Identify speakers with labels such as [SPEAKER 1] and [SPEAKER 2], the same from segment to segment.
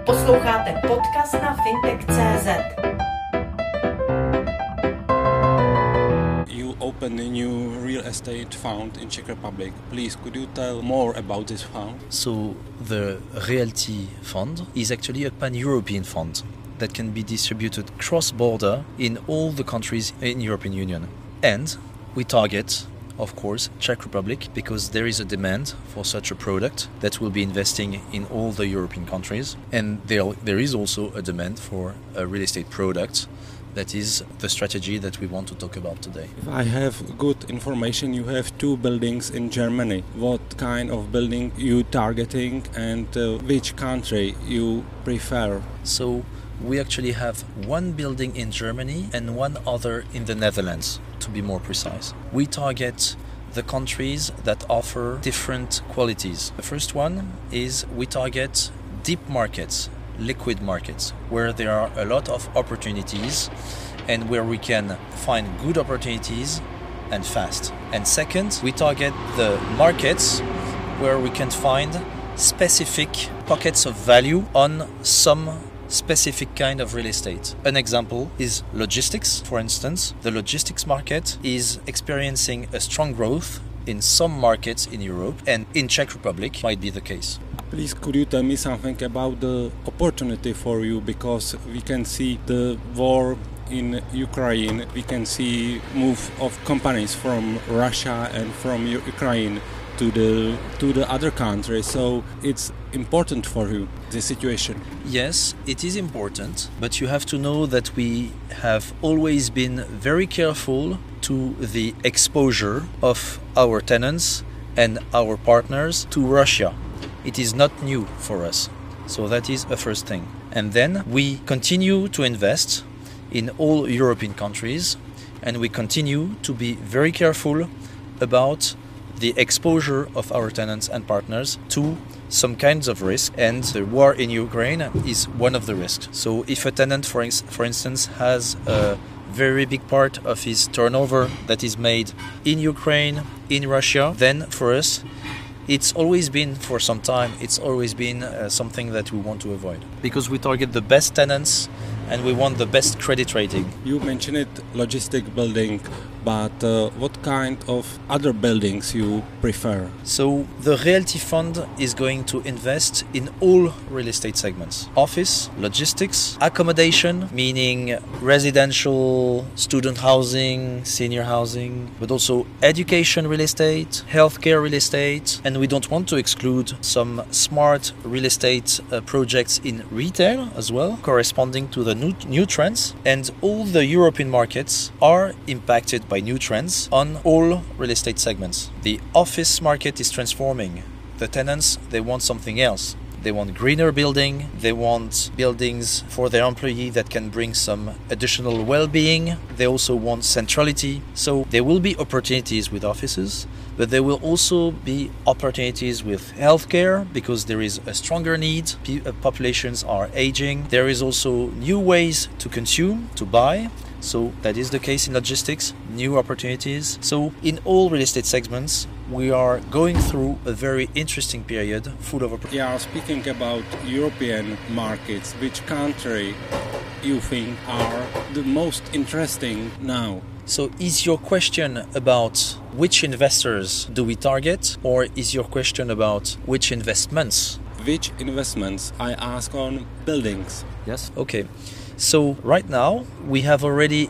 [SPEAKER 1] Posloucháte podcast na fintech.cz.
[SPEAKER 2] You opened a new real estate fund in Czech Republic. Please, could you tell more about this fund?
[SPEAKER 3] So the Realty Fund is actually a pan-European fund that can be distributed cross-border in all the countries in European Union. And we target, of course, Czech Republic because there is a demand for such a product that will be investing in all the European countries. And there is also a demand for a real estate product. That is the strategy that we want to talk about today.
[SPEAKER 2] If I have good information, you have 2 buildings in Germany. What kind of building you targeting and which country you prefer?
[SPEAKER 3] So we actually have 1 building in Germany and 1 other in the Netherlands, to be more precise. We target the countries that offer different qualities. The first one is we target deep markets, liquid markets, where there are a lot of opportunities and where we can find good opportunities and fast. And second, we target the markets where we can find specific pockets of value on some specific kind of real estate. An example is logistics. For instance, the logistics market is experiencing a strong growth in some markets in Europe, and in Czech Republic might be the case.
[SPEAKER 2] Please, could you tell me something about the opportunity for you? Because we can see the war in Ukraine, we can see move of companies from Russia and from Ukraine to the other countries. So it's important for you, the situation.
[SPEAKER 3] Yes, it is important, but you have to know that we have always been very careful to the exposure of our tenants and our partners to Russia. It is not new for us. So that is a first thing. And then we continue to invest in all European countries, and we continue to be very careful about the exposure of our tenants and partners to some kinds of risk, and the war in Ukraine is one of the risks. So if a tenant, for instance, has a very big part of his turnover that is made in Ukraine, in Russia, then for us, it's always been, for some time, something that we want to avoid. Because we target the best tenants and we want the best credit rating.
[SPEAKER 2] You mentioned it, logistic building, but what kind of other buildings you prefer?
[SPEAKER 3] So the Realty Fund is going to invest in all real estate segments. Office, logistics, accommodation, meaning residential, student housing, senior housing, but also education real estate, healthcare real estate, and we don't want to exclude some smart real estate projects in retail as well, corresponding to the new trends. And all the European markets are impacted by new trends on all real estate segments. The office market is transforming. The tenants, they want something else. They want greener building. They want buildings for their employee that can bring some additional well-being. They also want centrality. So there will be opportunities with offices, but there will also be opportunities with healthcare because there is a stronger need. Populations are aging. There is also new ways to consume, to buy. So that is the case in logistics, new opportunities. So in all real estate segments, we are going through a very interesting period full of opportunities.
[SPEAKER 2] Yeah, speaking about European markets, which country you think are the most interesting now?
[SPEAKER 3] So is your question about which investors do we target, or is your question about which investments?
[SPEAKER 2] Which investments? I ask on buildings.
[SPEAKER 3] Yes. Okay. So right now we have already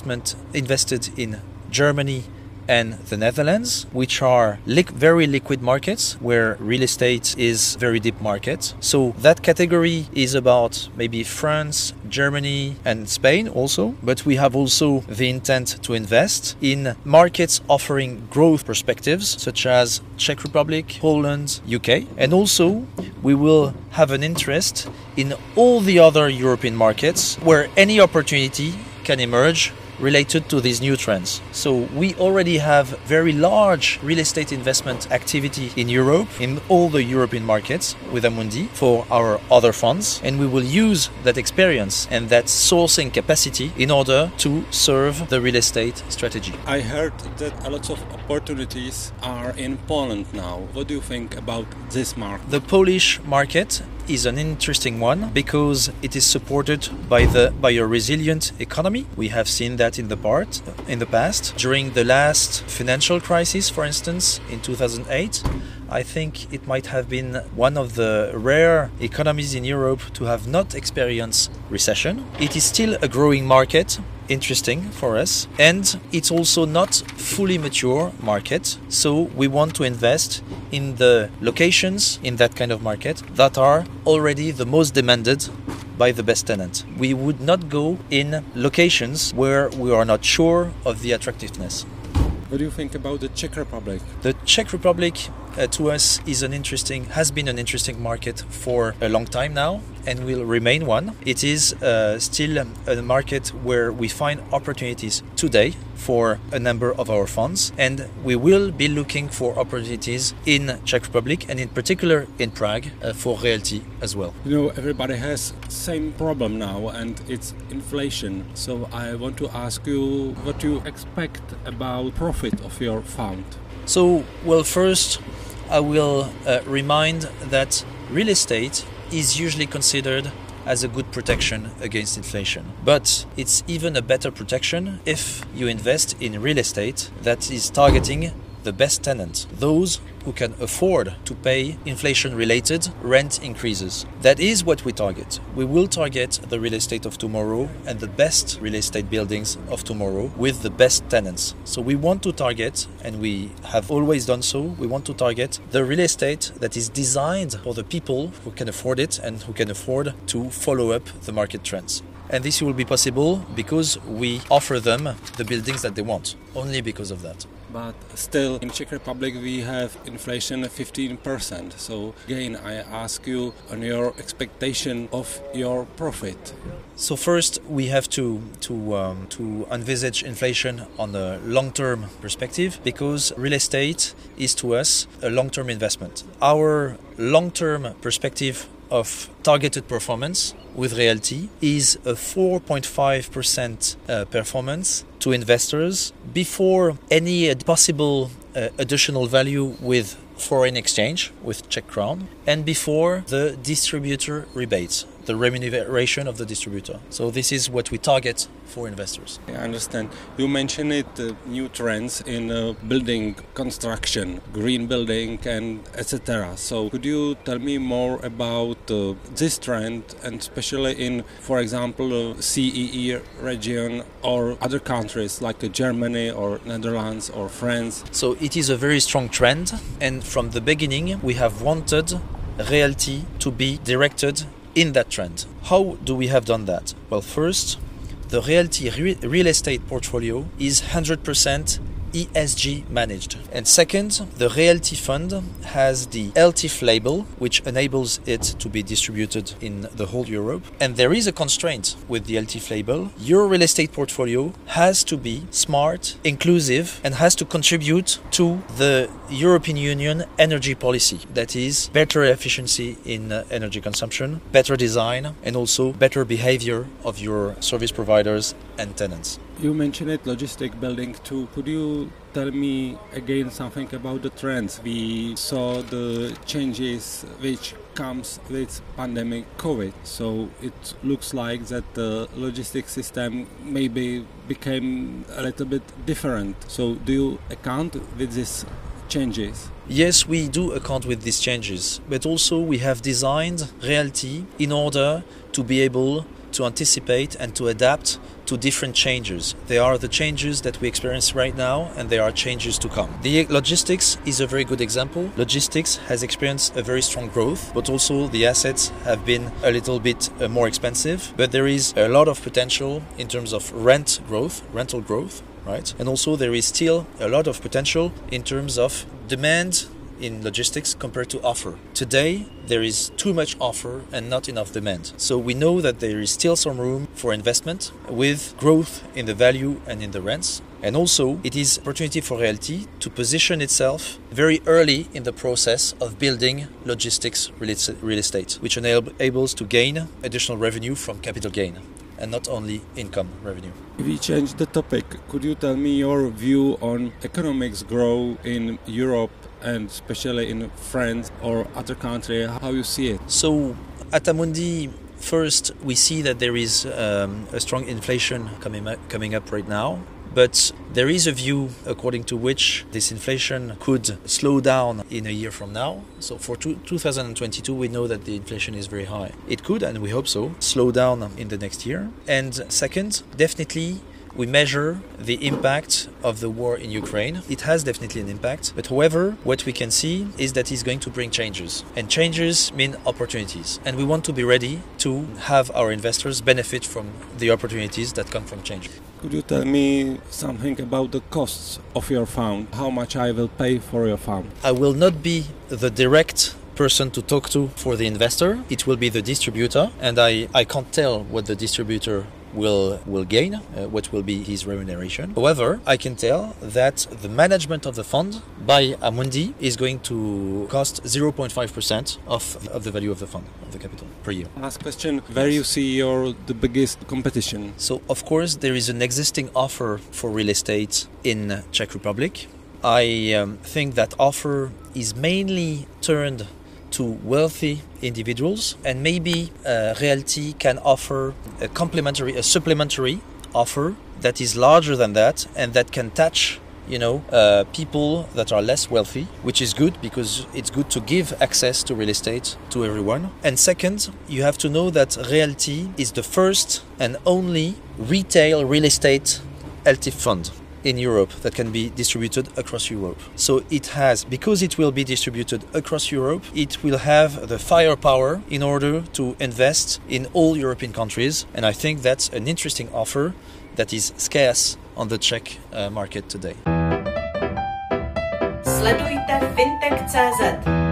[SPEAKER 3] invested in Germany and the Netherlands, which are very liquid markets where real estate is very deep market. So that category is about maybe France, Germany and Spain also. But we have also the intent to invest in markets offering growth perspectives such as Czech Republic, Poland, UK. And also we will have an interest in all the other European markets where any opportunity can emerge related to these new trends. So we already have very large real estate investment activity in Europe, in all the European markets with Amundi for our other funds, and we will use that experience and that sourcing capacity in order to serve the real estate strategy.
[SPEAKER 2] I heard that a lot of opportunities are in Poland now. What do you think about this market?
[SPEAKER 3] The Polish market is an interesting one because it is supported by a resilient economy. We have seen that in the past. During the last financial crisis, for instance, in 2008, I think it might have been one of the rare economies in Europe to have not experienced recession. It is still a growing market, interesting for us, and it's also not fully mature market, so we want to invest in the locations in that kind of market that are already the most demanded by the best tenant. We would not go in locations where we are not sure of the attractiveness.
[SPEAKER 2] What do you think about the Czech Republic?
[SPEAKER 3] The Czech Republic to us has been an interesting market for a long time now and will remain one. It is still a market where we find opportunities today for a number of our funds, and we will be looking for opportunities in Czech Republic and in particular in Prague for Realty as well.
[SPEAKER 2] You know, everybody has same problem now, and it's inflation. So I want to ask you what you expect about profit of your fund.
[SPEAKER 3] So, well, first I will remind that real estate is usually considered as a good protection against inflation. But it's even a better protection if you invest in real estate that is targeting the best tenants, those who can afford to pay inflation-related rent increases. That is what we target. We will target the real estate of tomorrow and the best real estate buildings of tomorrow with the best tenants. So we want to target, and we have always done so, we want to target the real estate that is designed for the people who can afford it and who can afford to follow up the market trends. And this will be possible because we offer them the buildings that they want, only because of that.
[SPEAKER 2] But still, in Czech Republic we have inflation of 15%. So again, I ask you on your expectation of your profit.
[SPEAKER 3] So first, we have to envisage inflation on a long-term perspective, because real estate is to us a long-term investment. Our long-term perspective of targeted performance with Realty is a 4.5% performance to investors before any possible additional value with foreign exchange, with Czech crown, and before the distributor rebates, the remuneration of the distributor. So this is what we target for investors.
[SPEAKER 2] I understand. You mentioned it, new trends in building construction, green building and etc. So could you tell me more about this trend, and especially in, for example, CEE region or other countries like Germany or Netherlands or France?
[SPEAKER 3] So it is a very strong trend, and from the beginning we have wanted Realty to be directed in that trend. How do we have done that? Well, first, the Realty real estate portfolio is 100% ESG managed. And second, the Realty Fund has the LTIF label, which enables it to be distributed in the whole Europe. And there is a constraint with the LTIF label. Your real estate portfolio has to be smart, inclusive, and has to contribute to the European Union energy policy. That is better efficiency in energy consumption, better design, and also better behavior of your service providers and tenants.
[SPEAKER 2] You mentioned it, logistic building too. Could you tell me again something about the trends? We saw the changes which comes with pandemic COVID. So it looks like that the logistic system maybe became a little bit different. So do you account with these changes?
[SPEAKER 3] Yes, we do account with these changes, but also we have designed Realty in order to be able to anticipate and to adapt to different changes. They are the changes that we experience right now, and there are changes to come. The logistics is a very good example. Logistics has experienced a very strong growth, but also the assets have been a little bit more expensive. But there is a lot of potential in terms of rental growth, right? And also there is still a lot of potential in terms of demand in logistics compared to offer. Today, there is too much offer and not enough demand. So we know that there is still some room for investment with growth in the value and in the rents. And also, it is an opportunity for Realty to position itself very early in the process of building logistics real estate, which enables to gain additional revenue from capital gain and not only income revenue.
[SPEAKER 2] If we change the topic, could you tell me your view on economics growth in Europe and especially in France or other countries, how you see it?
[SPEAKER 3] So At Amundi, first, we see that there is a strong inflation coming up right now. But there is a view according to which this inflation could slow down in a year from now. So for 2022, we know that the inflation is very high. It could, and we hope so, slow down in the next year. And second, definitely, we measure the impact of the war in Ukraine. It has definitely an impact. But however, what we can see is that it's going to bring changes. And changes mean opportunities. And we want to be ready to have our investors benefit from the opportunities that come from change.
[SPEAKER 2] Could you tell me something about the costs of your fund? How much I will pay for your fund?
[SPEAKER 3] I will not be the direct person to talk to for the investor. It will be the distributor. And I can't tell what the distributor will gain, what will be his remuneration. However, I can tell that the management of the fund by Amundi is going to cost 0.5% of the value of the fund, of the capital, per year.
[SPEAKER 2] Last question, where you see the biggest competition?
[SPEAKER 3] So, of course, there is an existing offer for real estate in Czech Republic. I think that offer is mainly turned to wealthy individuals, and maybe Realty can offer a supplementary offer that is larger than that and that can touch people that are less wealthy, which is good because it's good to give access to real estate to everyone. And second, you have to know that Realty is the first and only retail real estate LTIF fund in Europe that can be distributed across Europe. So because it will be distributed across Europe, it will have the firepower in order to invest in all European countries. And I think that's an interesting offer that is scarce on the Czech market today.
[SPEAKER 1] Sledujte fintech.cz.